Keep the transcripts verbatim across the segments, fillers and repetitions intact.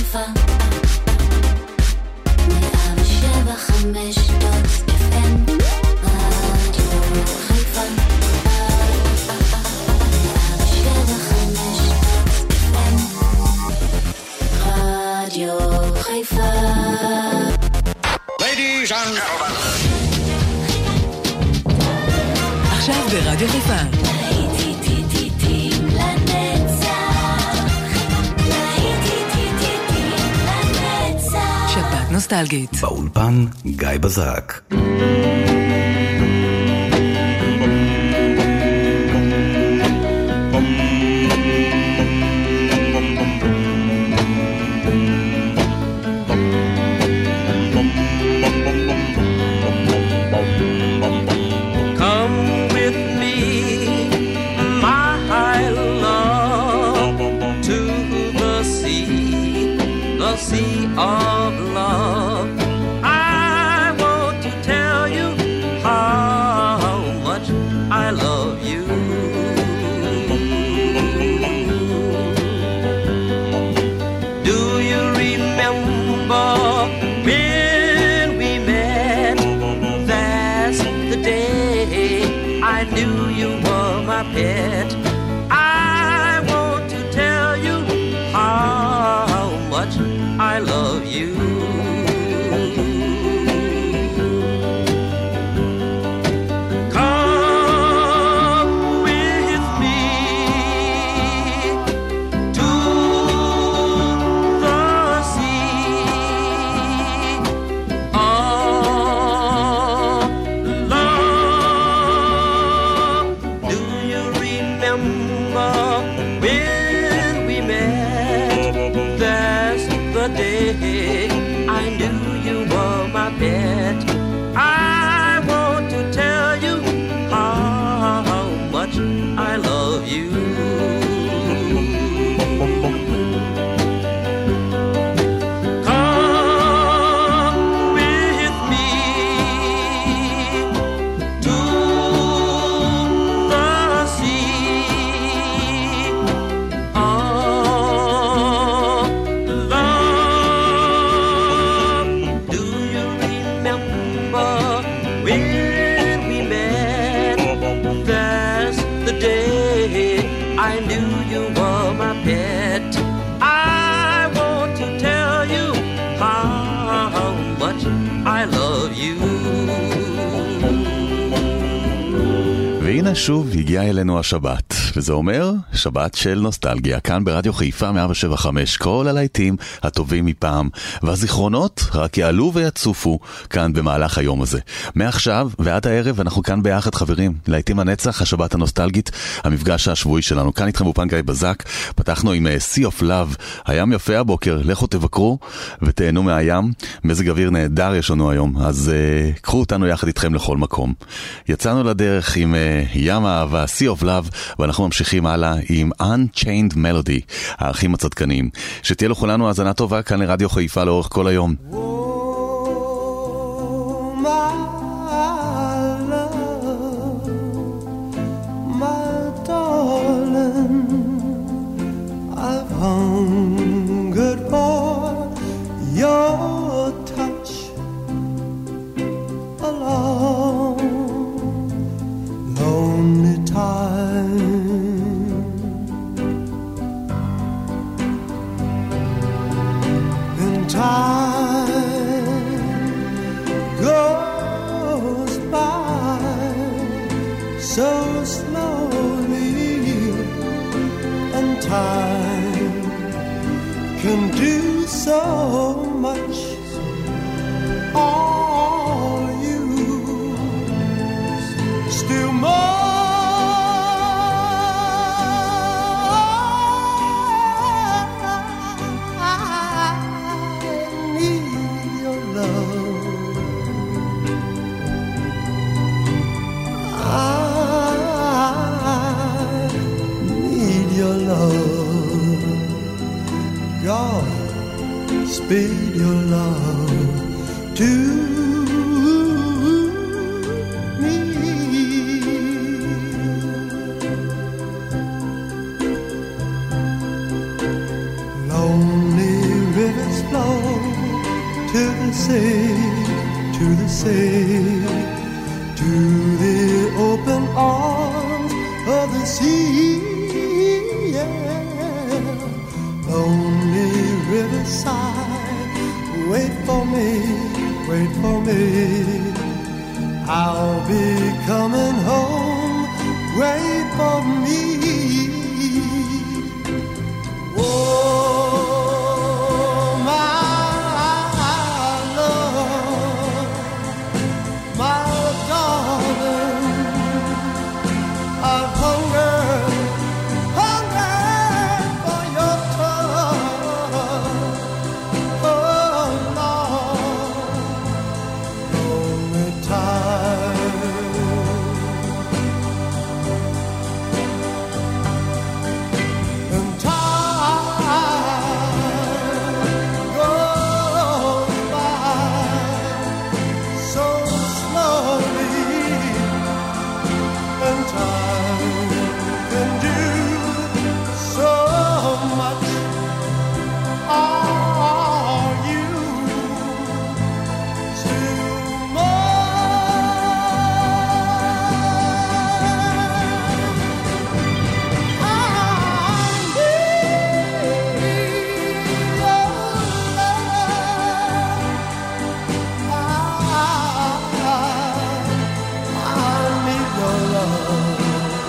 חיפה מאה ושבע חמש דוט אף אם רדיו חיפה מאה ושבע חמש דוט אף אם רדיו חיפה. Ladies and gentlemen, עכשיו ברדיו חיפה שבת נוסטלגית. באולפן גיא בזק. Of love, I want to tell you how much I love you. Do you remember when we met? That's the day I knew you were my pet. I want to tell you how much I love you. Come with me to the sea of love. Do you remember when we met? That's the day I knew you were my pet. I want to tell you how much I love you. Come with me to the sea of love. Do you remember when we met? That's the day I knew you were my pet. I want to tell you how much I love you. והנה שוב הגיעה אלינו השבת, וזה אומר שבת של נוסטלגיה, כאן ברדיו חיפה מאה שבע חמש, כל הלהיטים הטובים מפעם, והזיכרונות רק יעלו ויצופו כאן במהלך היום הזה. מעכשיו ועד הערב אנחנו כאן ביחד חברים, להיטים הנצח, השבת הנוסטלגית, המפגש השבועי שלנו. כאן איתכם באולפן גיא בזק, פתחנו עם Sea of Love, הים יפה הבוקר, לכו תבקרו ותהנו מהים, מזג אוויר נהדר יש לנו היום, אז uh, קחו אותנו יחד איתכם לכל מקום. יצאנו לדרך עם uh, ים האהבה, Sea of Love, ואנחנו ממשיכים הלאה עם Unchained Melody, האחים הצדקנים. שתהיה לכולנו האזנה טובה כאן לרדיו חיפה לאורך כל היום. Hungered for your touch along lonely time. And time goes by so slowly, and time can do so much. All you still more. I need your love. I need your love. God, speed your love to me. Lonely river sea, to the sea, to the open arms of the sea. Yeah. Lonely riverside, wait for me, wait for me. I'll be coming home, wait for me. Oh, my love, my darling, I've hungered, hungered for your touch. Oh, Lord, only time. And time goes by so slowly, and time can do so much. Are you still mine? I need your love.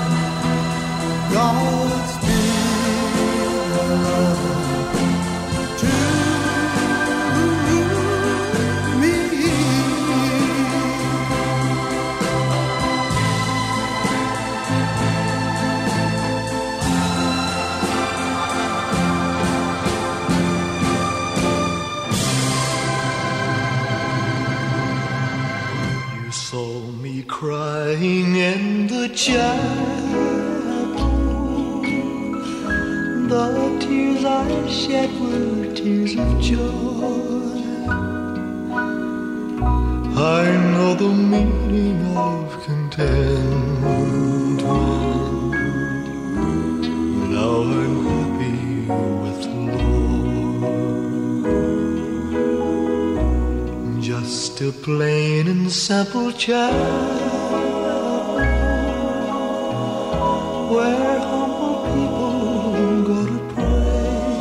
God's be your love to me. You saw me crying in the chapel. The tears I shed were tears of joy. I know the meaning of contentment. Now I'm happy with the Lord. Just a plain and simple child, where humble people go to pray.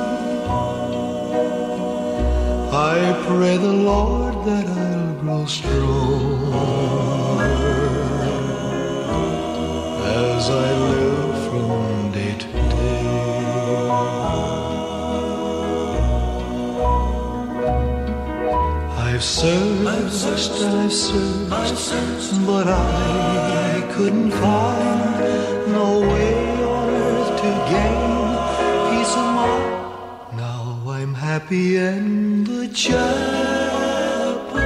I pray the Lord that I'll grow strong as I live from day to day. I've searched, I've searched, but I couldn't find no way on earth to gain peace of mind. Now I'm happy in the chapel,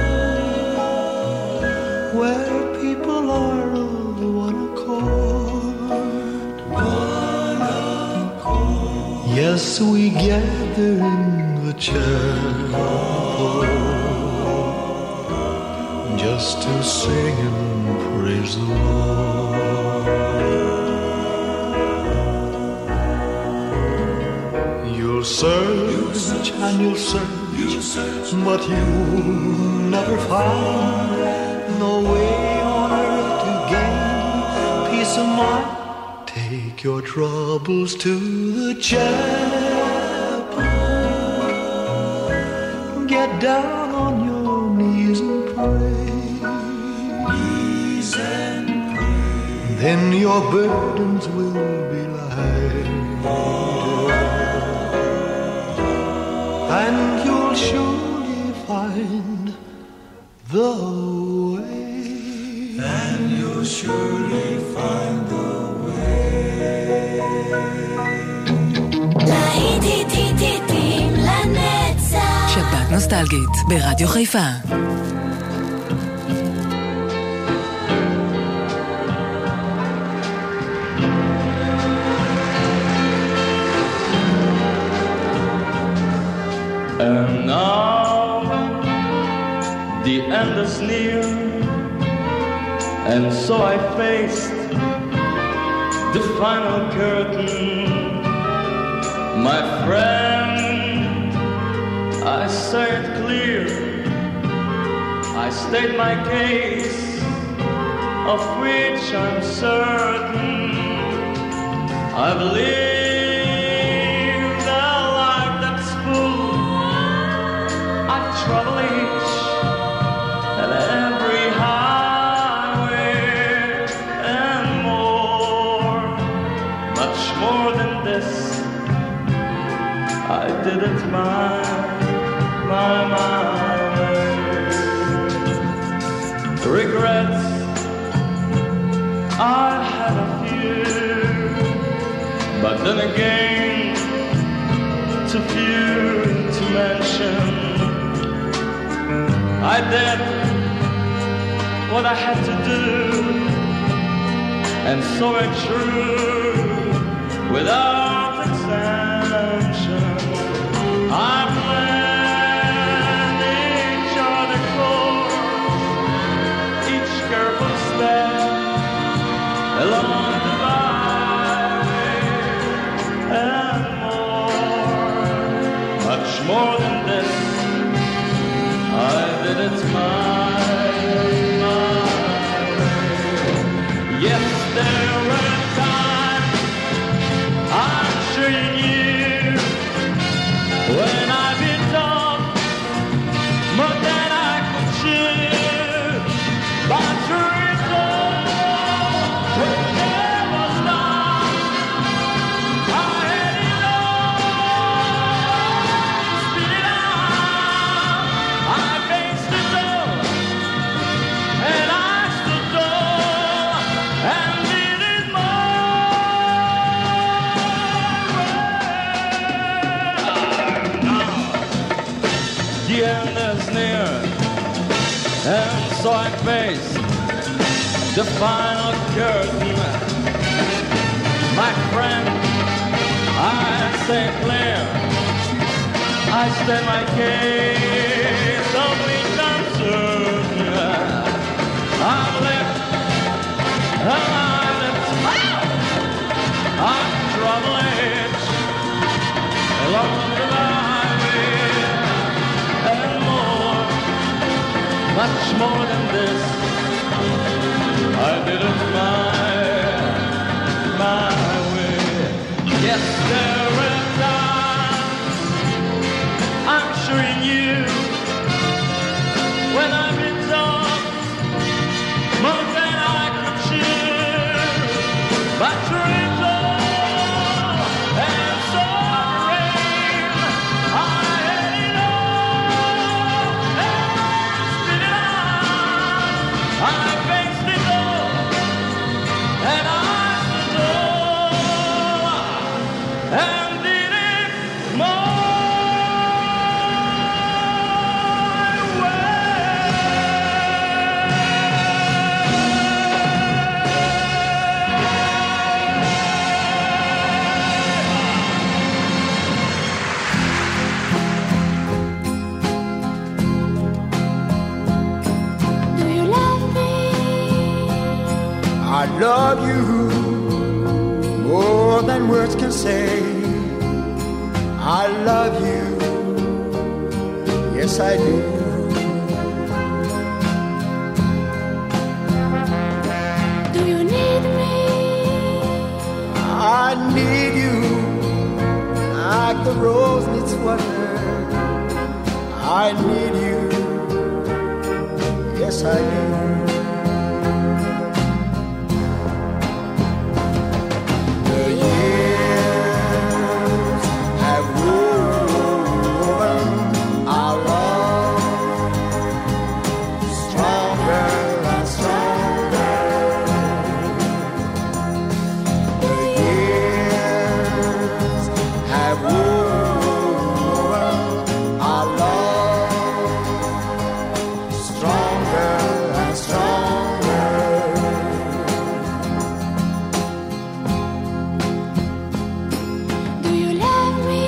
where people are of one accord. One accord. Yes, we gather in the chapel just to sing and praise the Lord. You'll search and you'll search, but you'll never find no way on earth to gain peace of mind. Take your troubles to the chapel, get down on your knees and pray. Knees and pray. Then your burdens will be lighter, and you'll surely find the way. And you'll surely find the way. להיטים לנצח. שבת נוסטלגית ברדיו חיפה. And now the end is near, and so I faced the final curtain. My friend, I saw it clear, I state my case, of which I'm certain. I believe the life that's full. I travel each and every highway and more, much more than this. I did it my, my, my way. Regrets, I had a few, but then again, too few to mention. I did what I had to do, and so it's true, without exemption. I planned each other course, each careful step along the byway, and more, much more than this. I did it my, my way. Yes, there were times I'm sure you knew when I've been tough, more than I could chew. But truth will never stop. I had it all, spit it out. I faced it all, and I stood tall, and did it my way. The end is near, and so I face the final curtain. My friend, I say clear, I state my case, of which I'm certain. I'm left, and I'm left. I'm traveling along the highway, and more, much more than this. I did it my, my way. Yes, there were times I'm sure you knew when I've been tough, more than I could chew. But truth all, and so rain, I had it all, and spit it out. I faced it all, and I stood tall, and did it my Do you love me? I love you more than words can say. I love you, yes I do. Do you need me? I need you like the rose needs water. I need you, yes I do. The years have woven our love stronger and stronger. The years have woven our love stronger and stronger. Do you love me?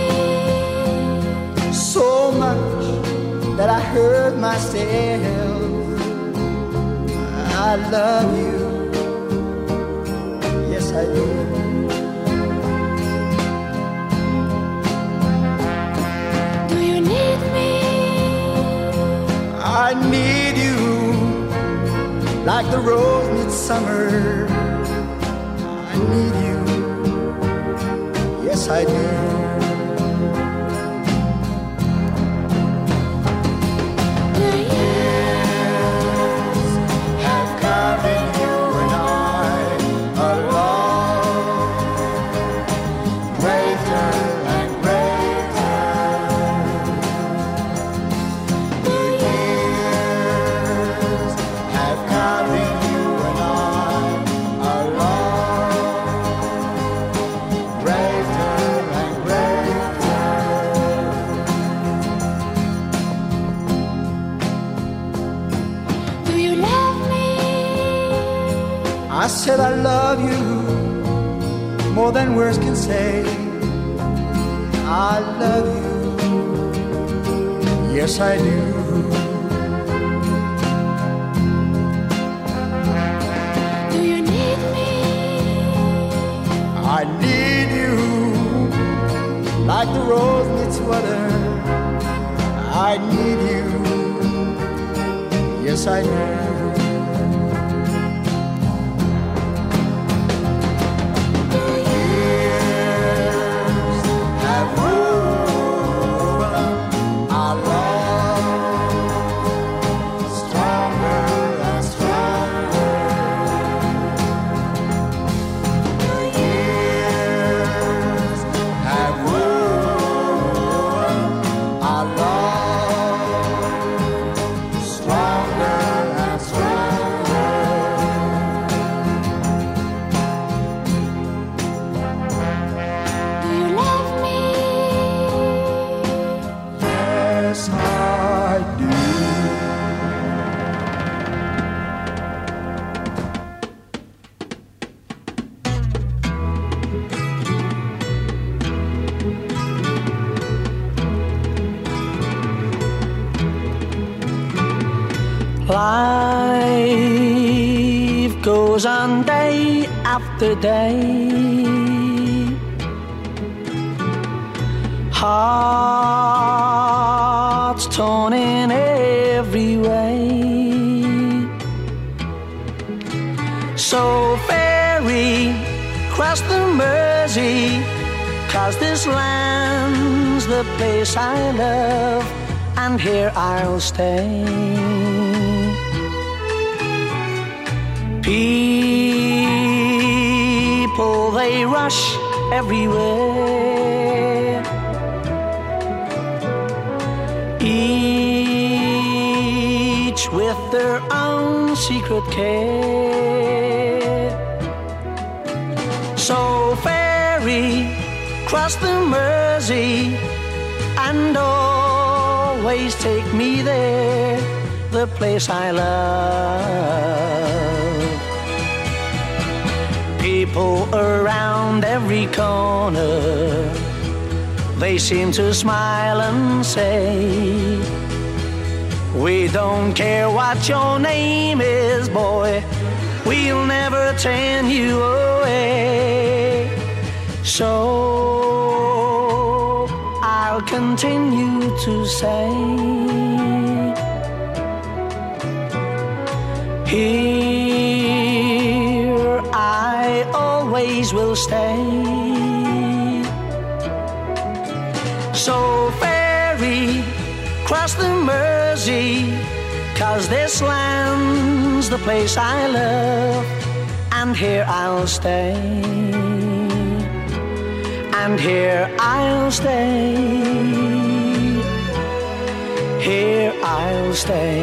So much that I hurt myself. I love you, yes I do. Do you need me? I need you like the rose midsummer. I need you, yes I do. The years have carried you and I along, greater and greater. The years have carried you and I along, greater and greater. Do you love me? I said I love you more than words can say. I love you, yes I do. Do you need me? I need you like the rose needs water. I need you, yes I do. The years have woven our love stronger and stronger. The years have woven our love stronger and stronger. Do you love me? Yes, I do. Life goes on day after day. Hearts torn in every way. So ferry cross the Mersey, 'cause this land's the place I love, and here I'll stay. People, they rush everywhere, each with their own secret care. So ferry cross the Mersey and always take me there, the place I love. People around every corner, they seem to smile and say, we don't care what your name is, boy, we'll never turn you away. So I'll continue to say, here I always will stay. So ferry cross the Mersey, 'cause this land's the place I love, and here I'll stay, and here I'll stay, here I'll stay.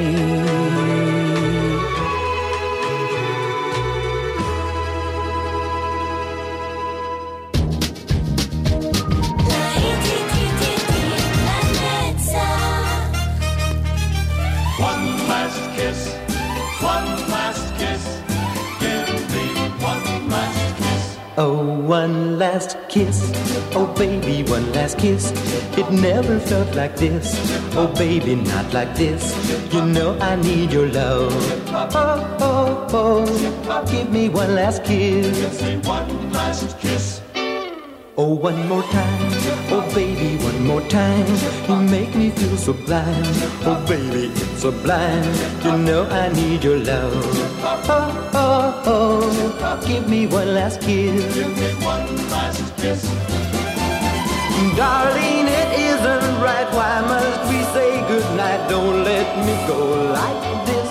One last kiss, one last kiss, give me one last kiss. Oh, one last kiss, oh baby, one last kiss. It never felt like this, oh baby, not like this. You know I need your love. Oh, oh, oh, give me one last kiss. Give me one last kiss. Oh, one more time, oh baby, one more time. You make me feel so blind. Oh baby, it's so blind. You know I need your love. Oh, oh, oh, give me one last kiss. Give me one last kiss. Darling, it isn't right. Why must we say goodnight? Don't let me go like this.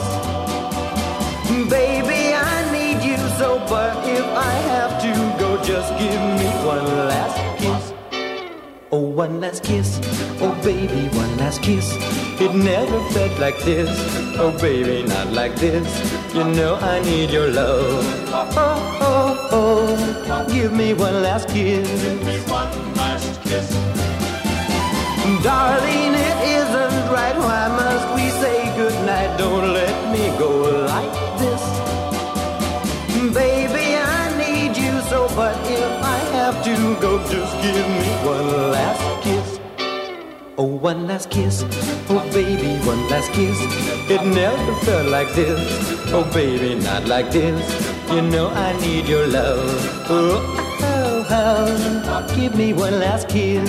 Baby, I need you so, but if I have to go, just give me one last kiss. Oh, one last kiss. Oh, baby, one last kiss. It never felt like this. Oh, baby, not like this. You know I need your love. Oh, oh, oh, give me one last kiss. Give me one last kiss. Darling, it isn't right. Why must we say goodnight? Don't let me go like this. Baby, I need you so, but if I have to go, just give me one last kiss. Oh, one last kiss. Oh, baby, one last kiss. It never felt like this. Oh, baby, not like this. You know I need your love. Oh, oh, oh, give me one last kiss.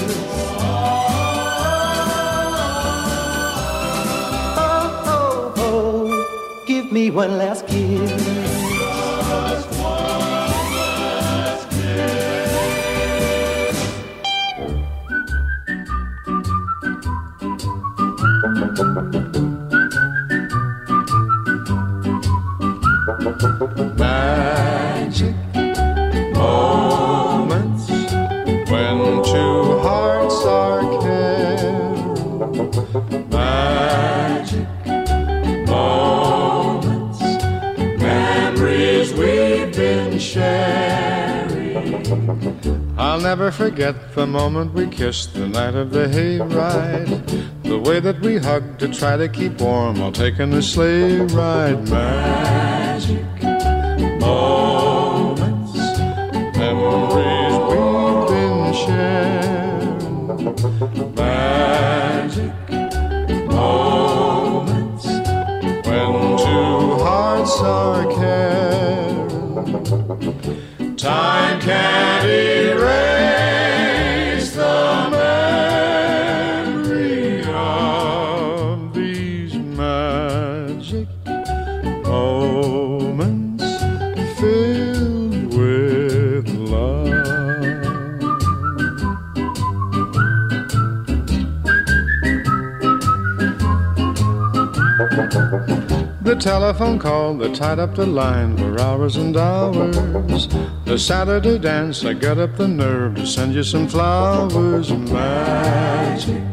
Give me one last kiss. Just one last kiss. Magic moments when two hearts are caring. Magic moments, memories we've been sharing. I'll never forget the moment we kissed the night of the hayride. The way that we hugged to try to keep warm while taking a sleigh ride. Magic moments, memories we've been sharing. Magic moments when two hearts are caring. Time can't erase the memory of these magic moments filled with love. The telephone call that tied up the line for hours and hours. The Saturday dance, I got up the nerve to send you some flowers. Magic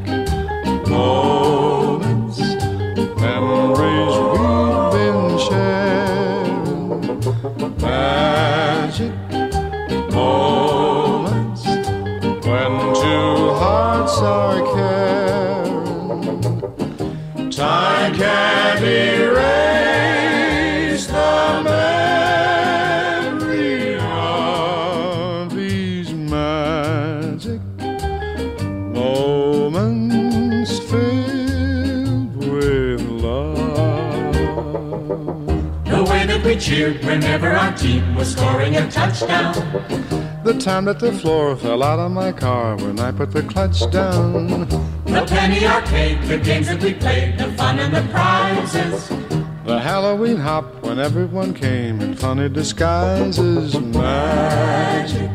moments, memories we've been sharing. Magic moments when two hearts are caring. Time can't erase the memory of these magic moments filled with love. The way that we cheered whenever our team was scoring a touchdown. The time that the floor fell out of my car when I put the clutch down. The penny arcade, the games that we played, the fun and the prizes. The Halloween hop when everyone came in funny disguises. Magic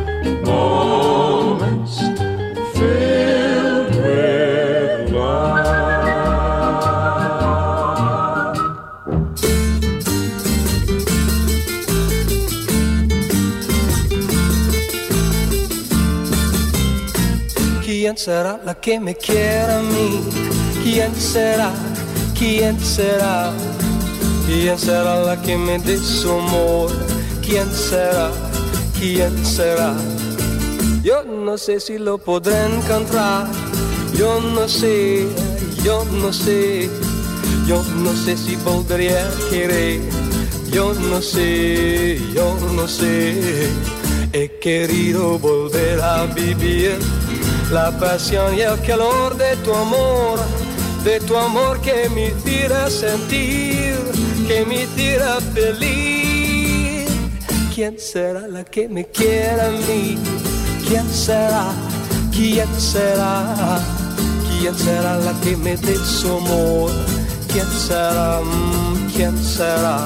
moments filled with love. ¿Quién será la que me quiera a mí? ¿Quién será? ¿Quién será? ¿Quién será la que me dé su amor? ¿Quién será? ¿Quién será? Yo no sé si lo podré encontrar. Yo no sé, yo no sé. Yo no sé si volvería a querer. Yo no sé, yo no sé. He querido volver a vivir la pasión y el calor de tu amor, de tu amor que me hiciera sentir, que me hiciera feliz. ¿Quién será la que me quiera a mí? ¿Quién será? ¿quién será? ¿Quién será la que me dé su amor? ¿Quién será? ¿Quién será?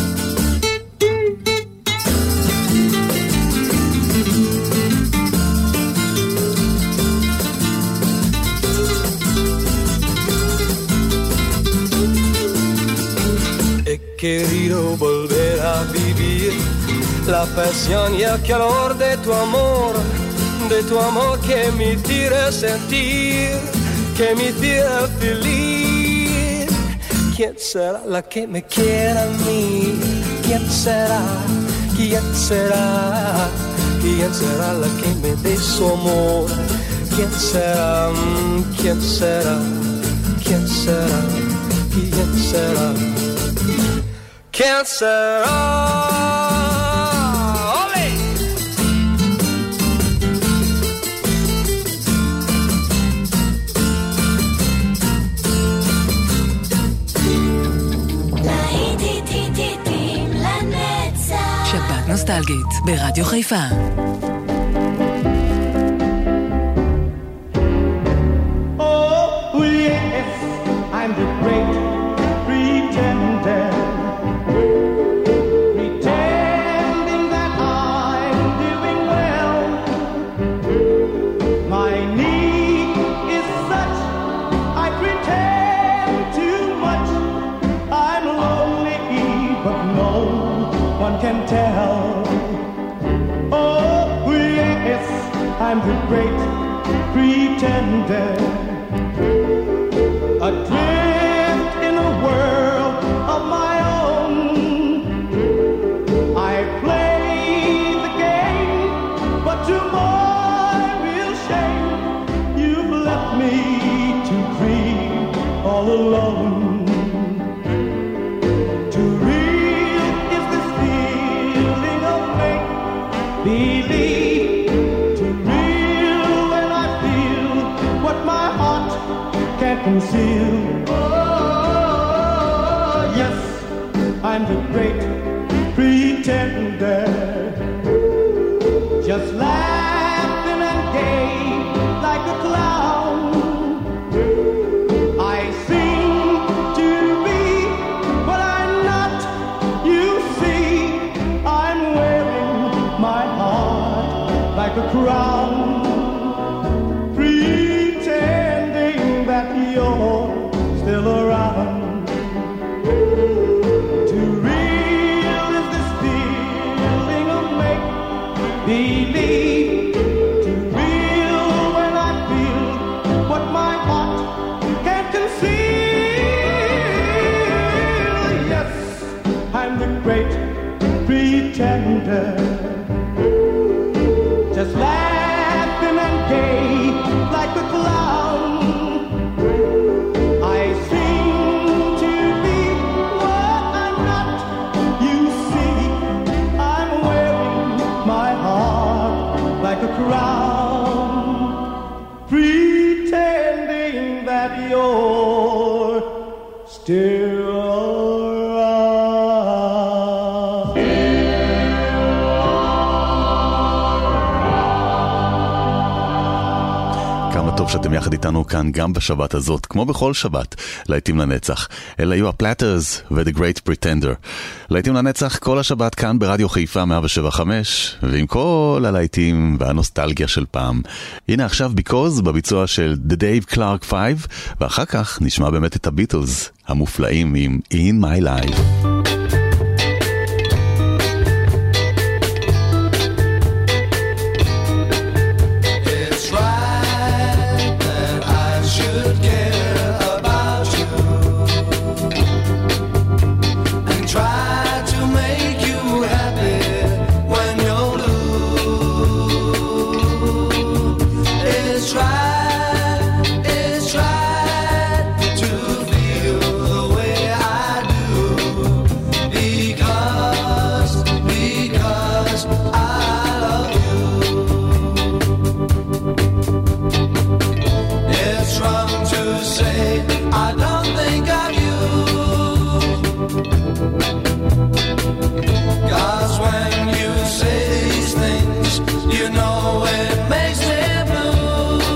He querido volver a vivir la pasión y el calor de tu amor, de tu amor que me hiciera sentir, que me hiciera feliz. ¿Quién será la que me quiera a mí? ¿Quién será? ¿Quién será? ¿Quién será la que me dé su amor? ¿Quién será? ¿Quién será? ¿Quién será? ¿Quién será? ¿Quién será? שבת נוסטלגית ברדיו חיפה. Oh, yes, I'm the great pretender, pretending that I'm doing well. My need is such, I pretend too much. I'm lonely, but no one can tell. Oh, yes, I'm the great pretender, adrift in a world of my own. I play the game, but to my real shame, you've left me to grieve all alone. Too real is this feeling of make-believe. Too real when I feel what my heart can't conceal. Oh, yes, I'm the great pretender, just laughing and gay like a clown. I seem to be what I'm not. You see, I'm wearing my heart like a crown, pretending that you're still around. Too real is this feeling of make-believe. Too real when I feel what my heart can't conceal. Yes, I'm the great pretender, just laughing and gay like a clown. I seem to be what I'm not. You see, I'm wearing my heart like a crown, pretending that you're still טוב שאתם יחד איתנו כאן גם בשבת הזאת, כמו בכל שבת, להיטים לנצח. אלה היו הפלטרס ו-The Great Pretender. להיטים לנצח כל השבת כאן ברדיו חיפה מאה שבע חמש, ועם כל הלהיטים והנוסטלגיה של פעם. הנה עכשיו Because בביצוע של The Dave Clark Five, ואחר כך נשמע באמת את הביטלס המופלאים עם In My Life. You know it makes me blue.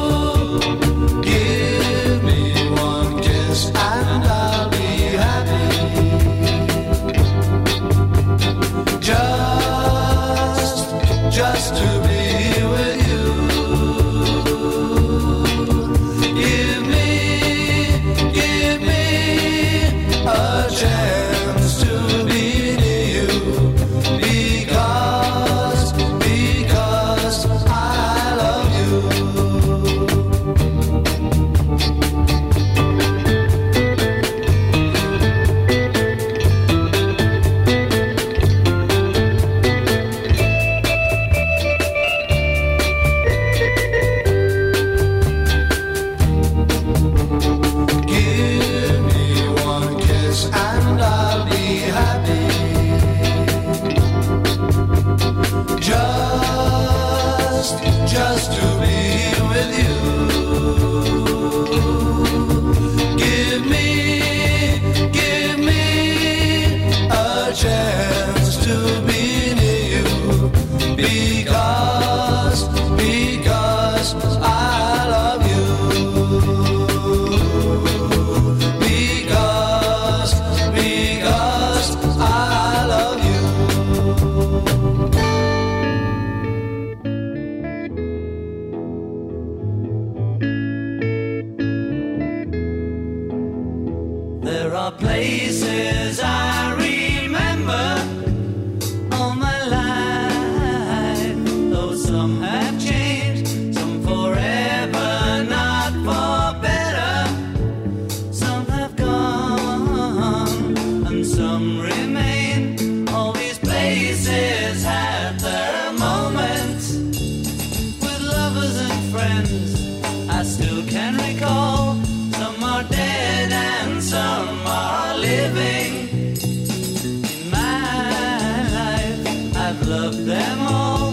are places I remember all my life, though some have changed, some forever, not for better. Some have gone and some remain. All these places have their moments with lovers and friends I still can recall. Some are dead and some are living. In my life, I've loved them all.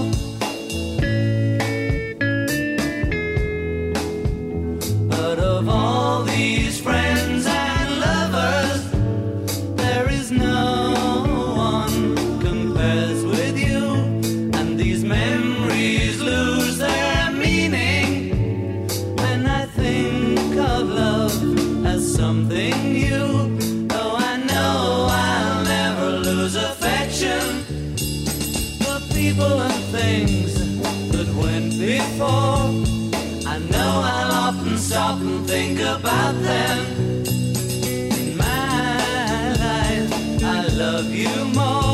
But of all these friends and lovers, there is no one compares with you. And these memories lose their meaning when I think of love as something new. Though I know I'll never lose affection for people and things that went before. I know I'll often stop and think about them. In my life, I love you more.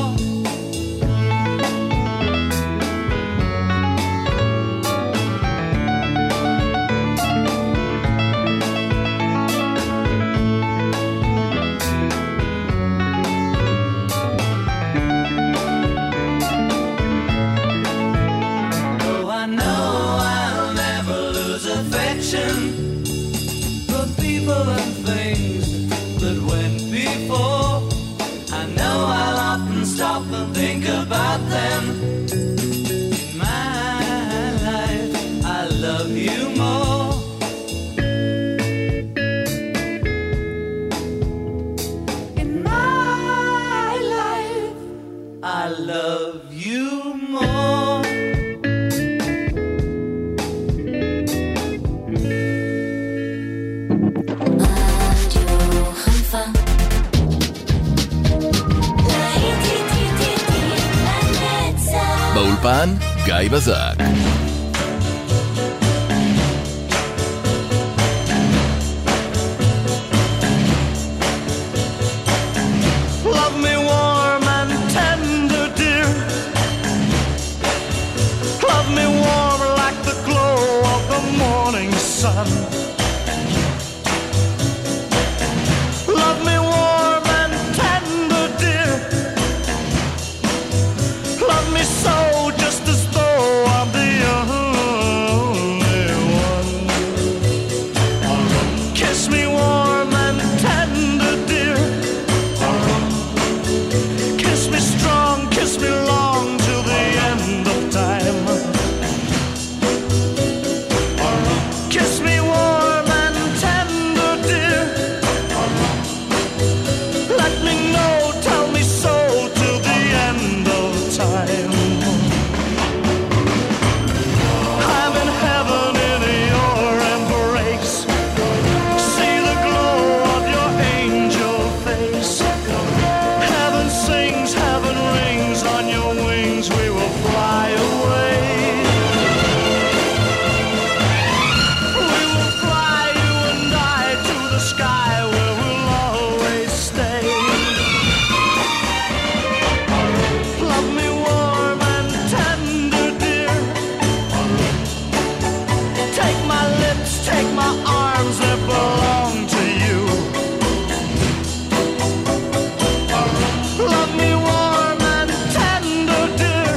For people and things that went before, I know I'll often stop and think about them. In my life, I love you more. In my life, I love you more. באולפן גיא בזק. Love me warm and tender, dear. Love me warm like the glow of the morning sun. Love me warm and tender, dear. Love me so, just as though I'm the only one. Kiss me warm and tender, dear. Kiss me strong, kiss me long till the end of time. Kiss me warm and tender, dear. Let me know, tell me so till the end of time. I'm in heaven in your embrace. See the glow of your angel face. Heaven sings, heaven rings, on your wings we will fly away. We will fly, you and I, to the sky where we'll always stay. Love me warm and tender, dear. Take my lips, take my arms that belong to you. Love me warm and tender, dear.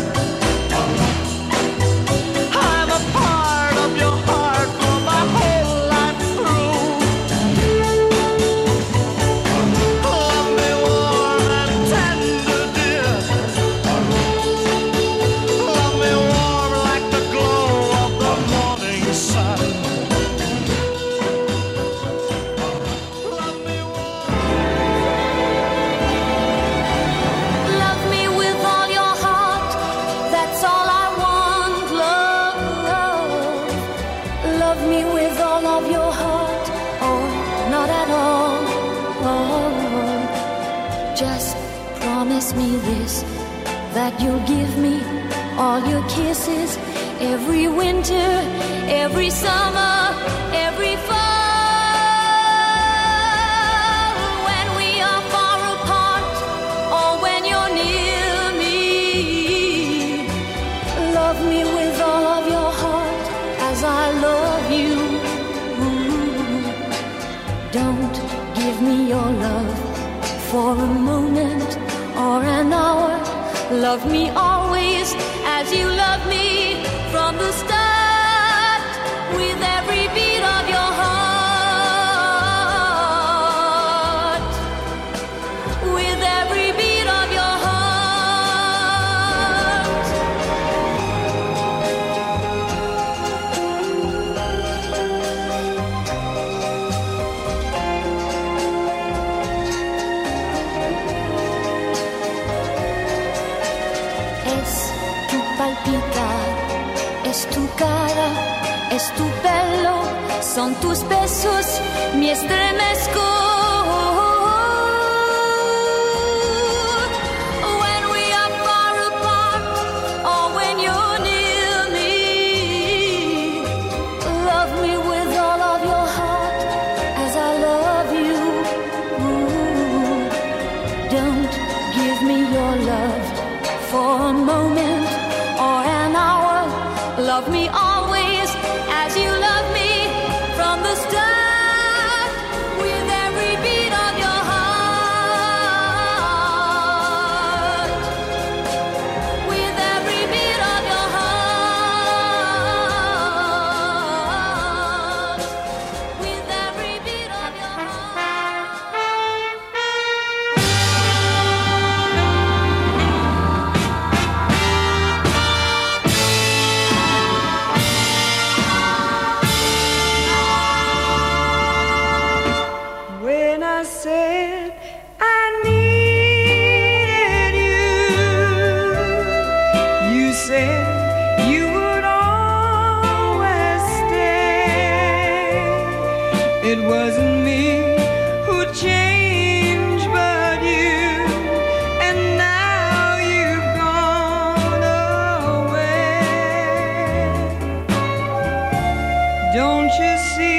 I'm a part of your heart for my whole life through. Love me warm and tender, dear. Love me warm like the glow of the morning sun. Love me Love me with all your heart, that's all I want, love, love. Love me with all of your heart, or not at all, oh. Just promise me this, that you'll give me all your kisses, every winter, every summer, every fall. When we a moment or an hour. Love me always as you love me from the start, with every beat of your heart, with every beat of your heart. Es tu palpitar, es tu cara, es tu pelo, son tus besos, mi estremezco. When we are far apart or when you're near me, love me with all of your heart as I love you. Ooh, don't give me your love for a moment or an hour. Love me always as you love me from the start, with every beat of your heart, with every beat of your heart, with every beat of your When I said I needed you, you said you would always stay. It wasn't me who changed, but you, and now you've gone away. Don't you see?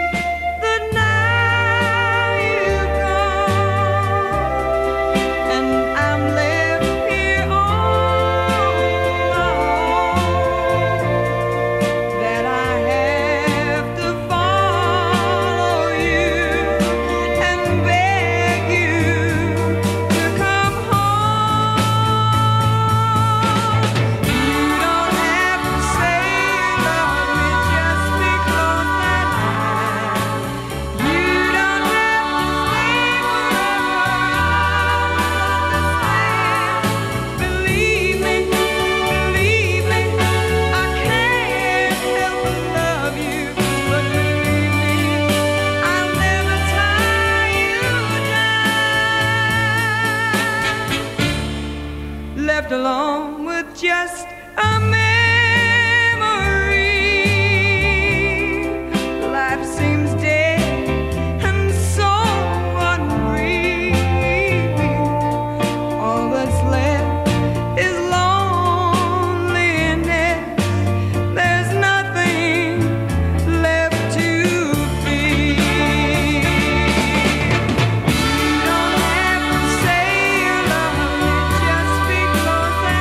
Left alone with just a memory. Life seems dead and so unreal. All that's left is loneliness. There's nothing left to feel. You don't have to say you love me just because I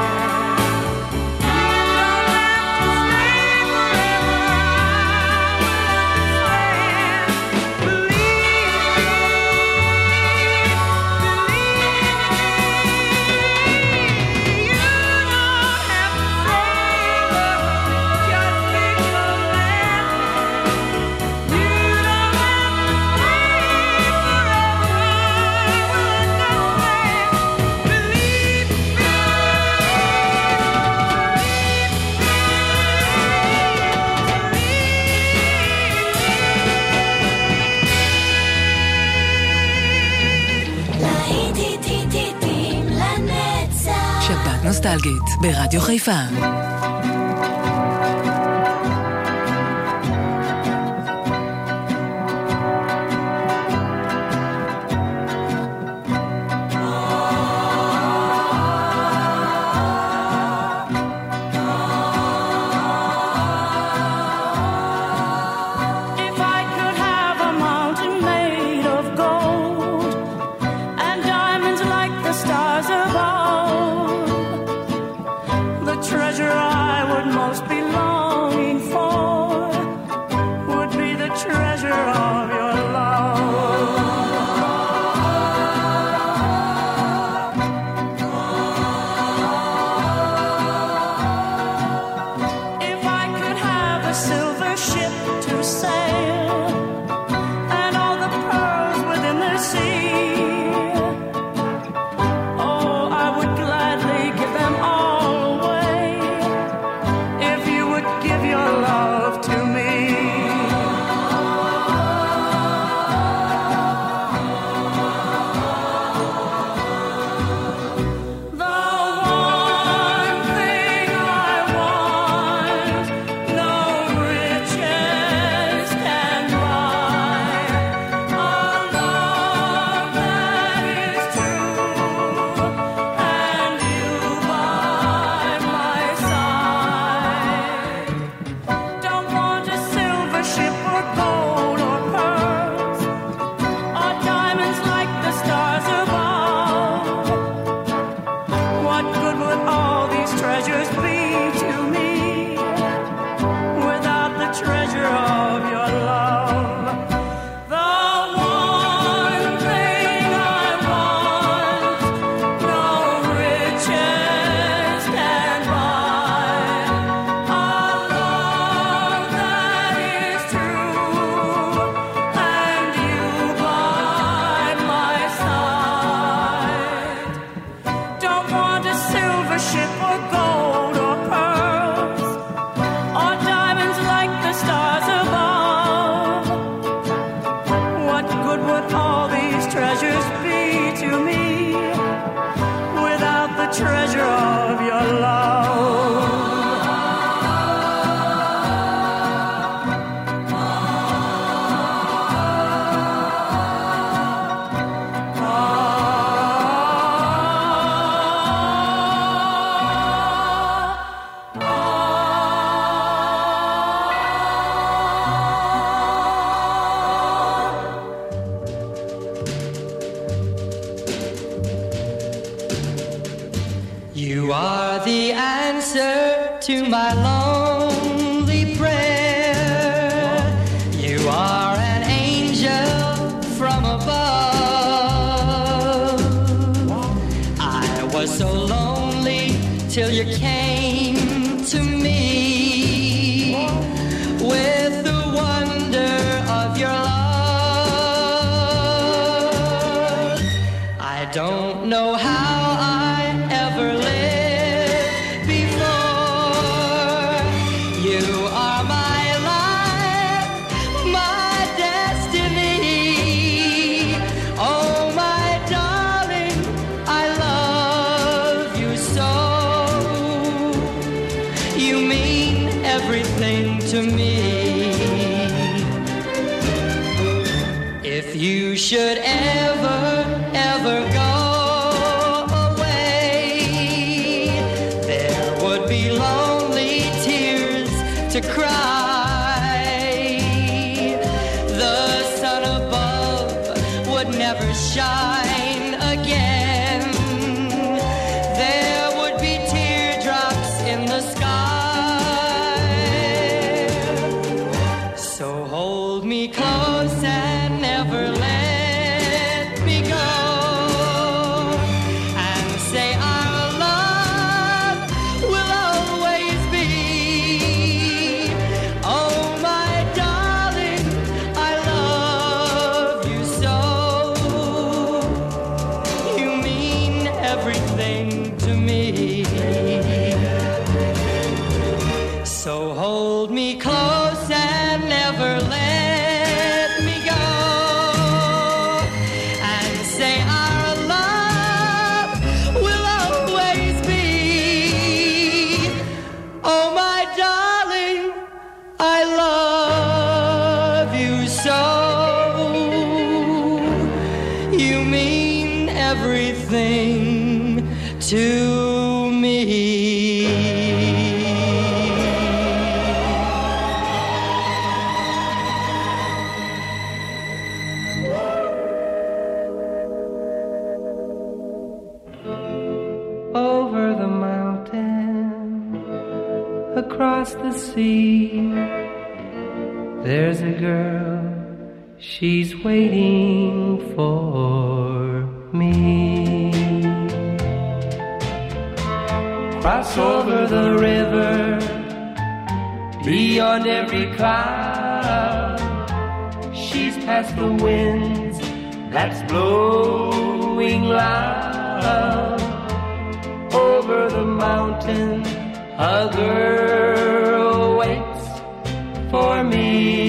נוסטלגית ברדיו חיפה. Treasure I gold or pearls, or diamonds like the stars above. What good would all these treasures be to me without the treasure of your love? The one thing I want, no riches can buy. A love that is true, and you by my side. Don't want a silver ship or gold or pearls, or diamonds like the stars above. What good would all these treasures be to me without the treasure of your love? You are the answer to my lonely prayer. You are an angel from above. I was so lonely till you came to me with the wonder of your love. I don't know how I ever lived before. You are my life, my destiny. Oh, my darling, I love you so. You mean everything to me. If you should ever, ever go away, there would be lonely tears to cry. The sun above would never shine again. There would be teardrops in the sky. So hold me close and never let me go, and say our love will always be. Oh, my darling, I love you so. You mean everything to me. So hold me close and never let me go, and say our love will always be. Oh, my darling, I love you so. You mean everything to me. Over the mountain, across the sea, there's a girl, she's waiting for me. Cross over the river, beyond every cloud, she's past the winds that's blowing loud. Over the mountain, a girl waits for me.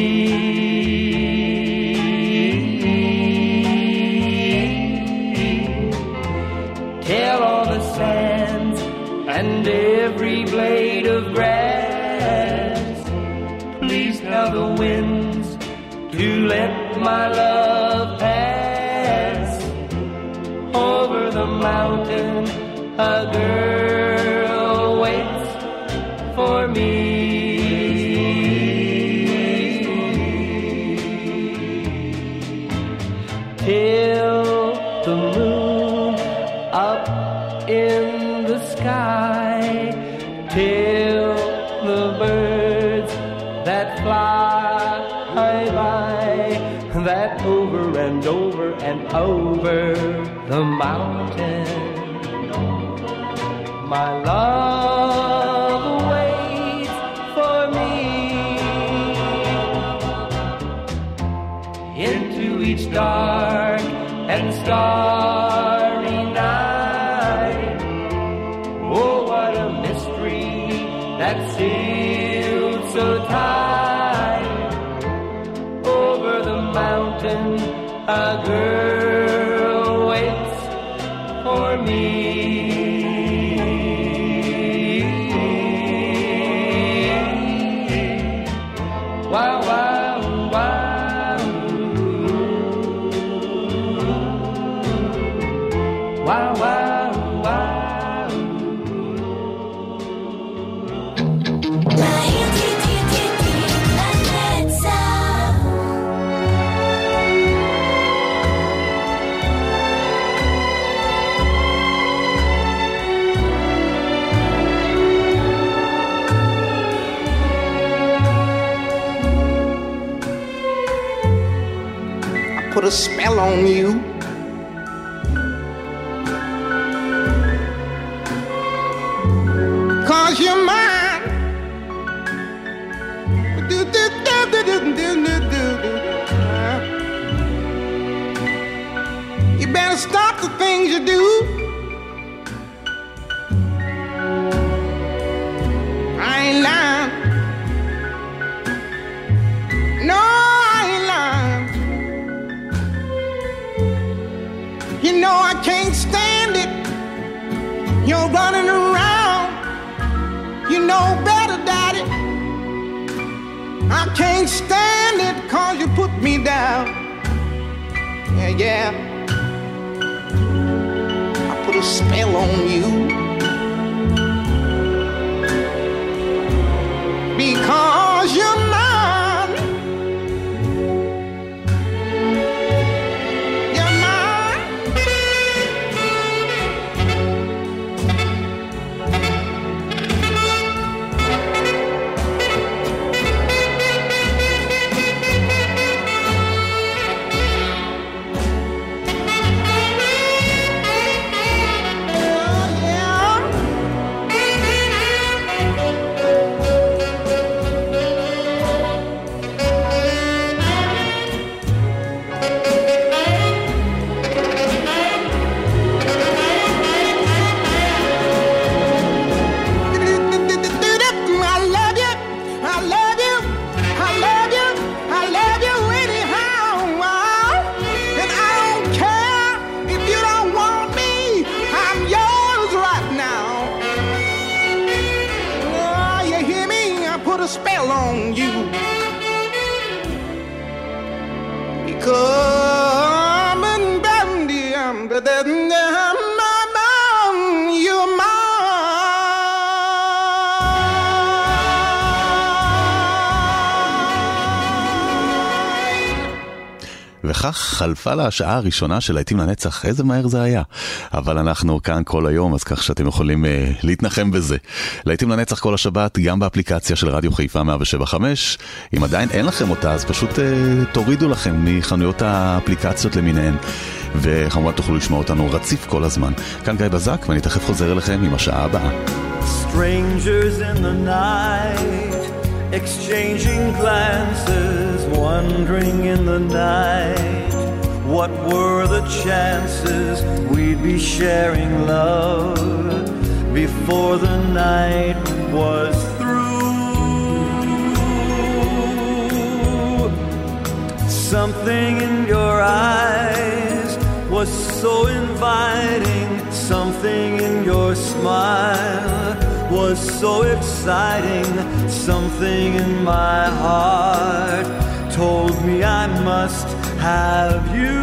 Tell all the sands and every blade of grass, please tell the winds to let my love pass. Over the mountain, a girl waits for me. till the moon up in the sky, till the birds that fly by, that over and over and over the mountain, my love waits for me. Into each dark and starry night, oh, what a mystery that sealed so tight. Over the mountain, a girl waits for me. Wow, wow, wow. Wow, wow, wow. Put a spell on you. Cause you're mine. Do, do, do, do, do, do, do, do. You better stop the things you do. I ain't lying. No, I ain't lying. You know I can't stand it. You're running around. You know better, Daddy. I can't stand it cause you put me down. Yeah, yeah. I put a spell on you. Because you're mine. וכך חלפה לה השעה הראשונה של להיטים לנצח. איזה מהר זה היה. אבל אנחנו כאן כל היום, אז כך שאתם יכולים uh, להתנחם בזה. להיטים לנצח כל השבת, גם באפליקציה של רדיו חיפה מאה שבע חמש. אם עדיין אין לכם אותה, אז פשוט uh, תורידו לכם מחנויות האפליקציות למיניהן. וכמובן תוכלו לשמוע אותנו רציף כל הזמן. כאן גיא בזק, ואני תכף חוזר אליכם עם השעה הבאה. Strangers in the night, exchanging glances, wondering in the night, what were the chances we'd be sharing love before the night was through. Something in your eyes was so inviting, something in your smile was so exciting, something in my heart told me I must have you.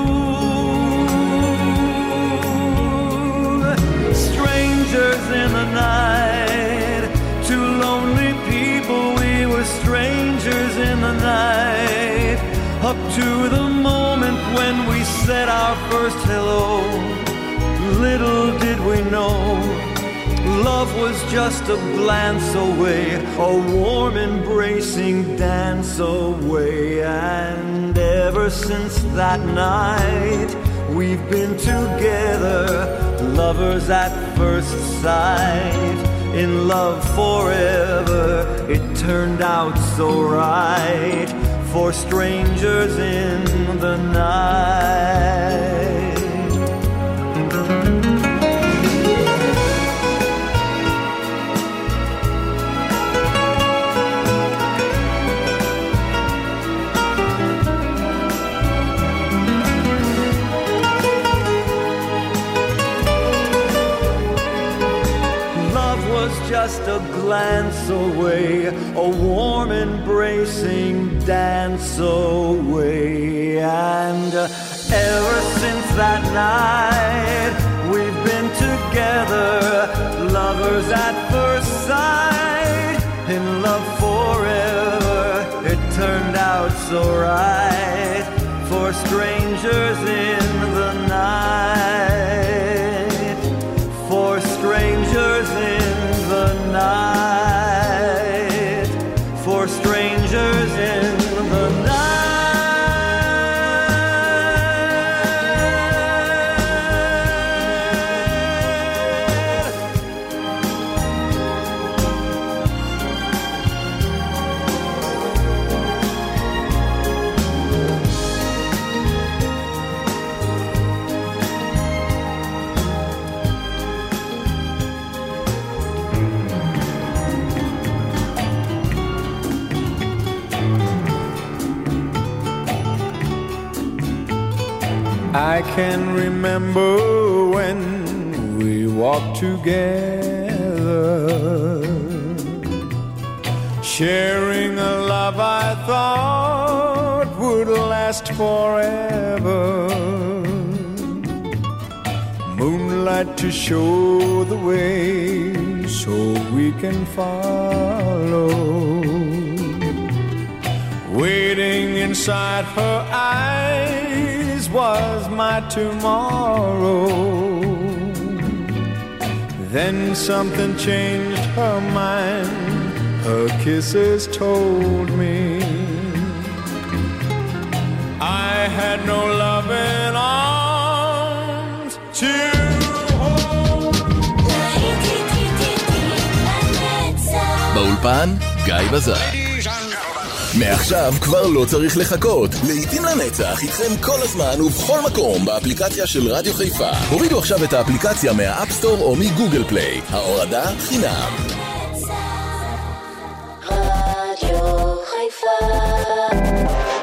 Strangers in the night, two lonely people, we were strangers in the night, up to the moment when we said our first hello. Little did we know, love was just a glance away, a warm embracing dance away. And ever since that night, we've been together, lovers at first sight. In love forever, it turned out so right, for strangers in the night. Just a glance away, a warm embracing dance away. And uh, ever since that night, we've been together, lovers at first sight. In love forever, it turned out so right, for strangers in the night, for strangers in the night, for strangers in the night. I can remember when we walked together, sharing a love I thought would last forever. Moonlight to show the way so we can follow. Waiting inside her eyes was my tomorrow. Then something changed her mind, her kisses told me I had no loving arms to hold. באולפן גיא בזק. מעכשיו כבר לא צריך לחכות. לעתים לנצח איתכם כל הזמן ובכל מקום באפליקציה של רדיו חיפה. הורידו עכשיו את האפליקציה מהאפסטור או מגוגל פליי. ההורדה חינם. רדיו חיפה.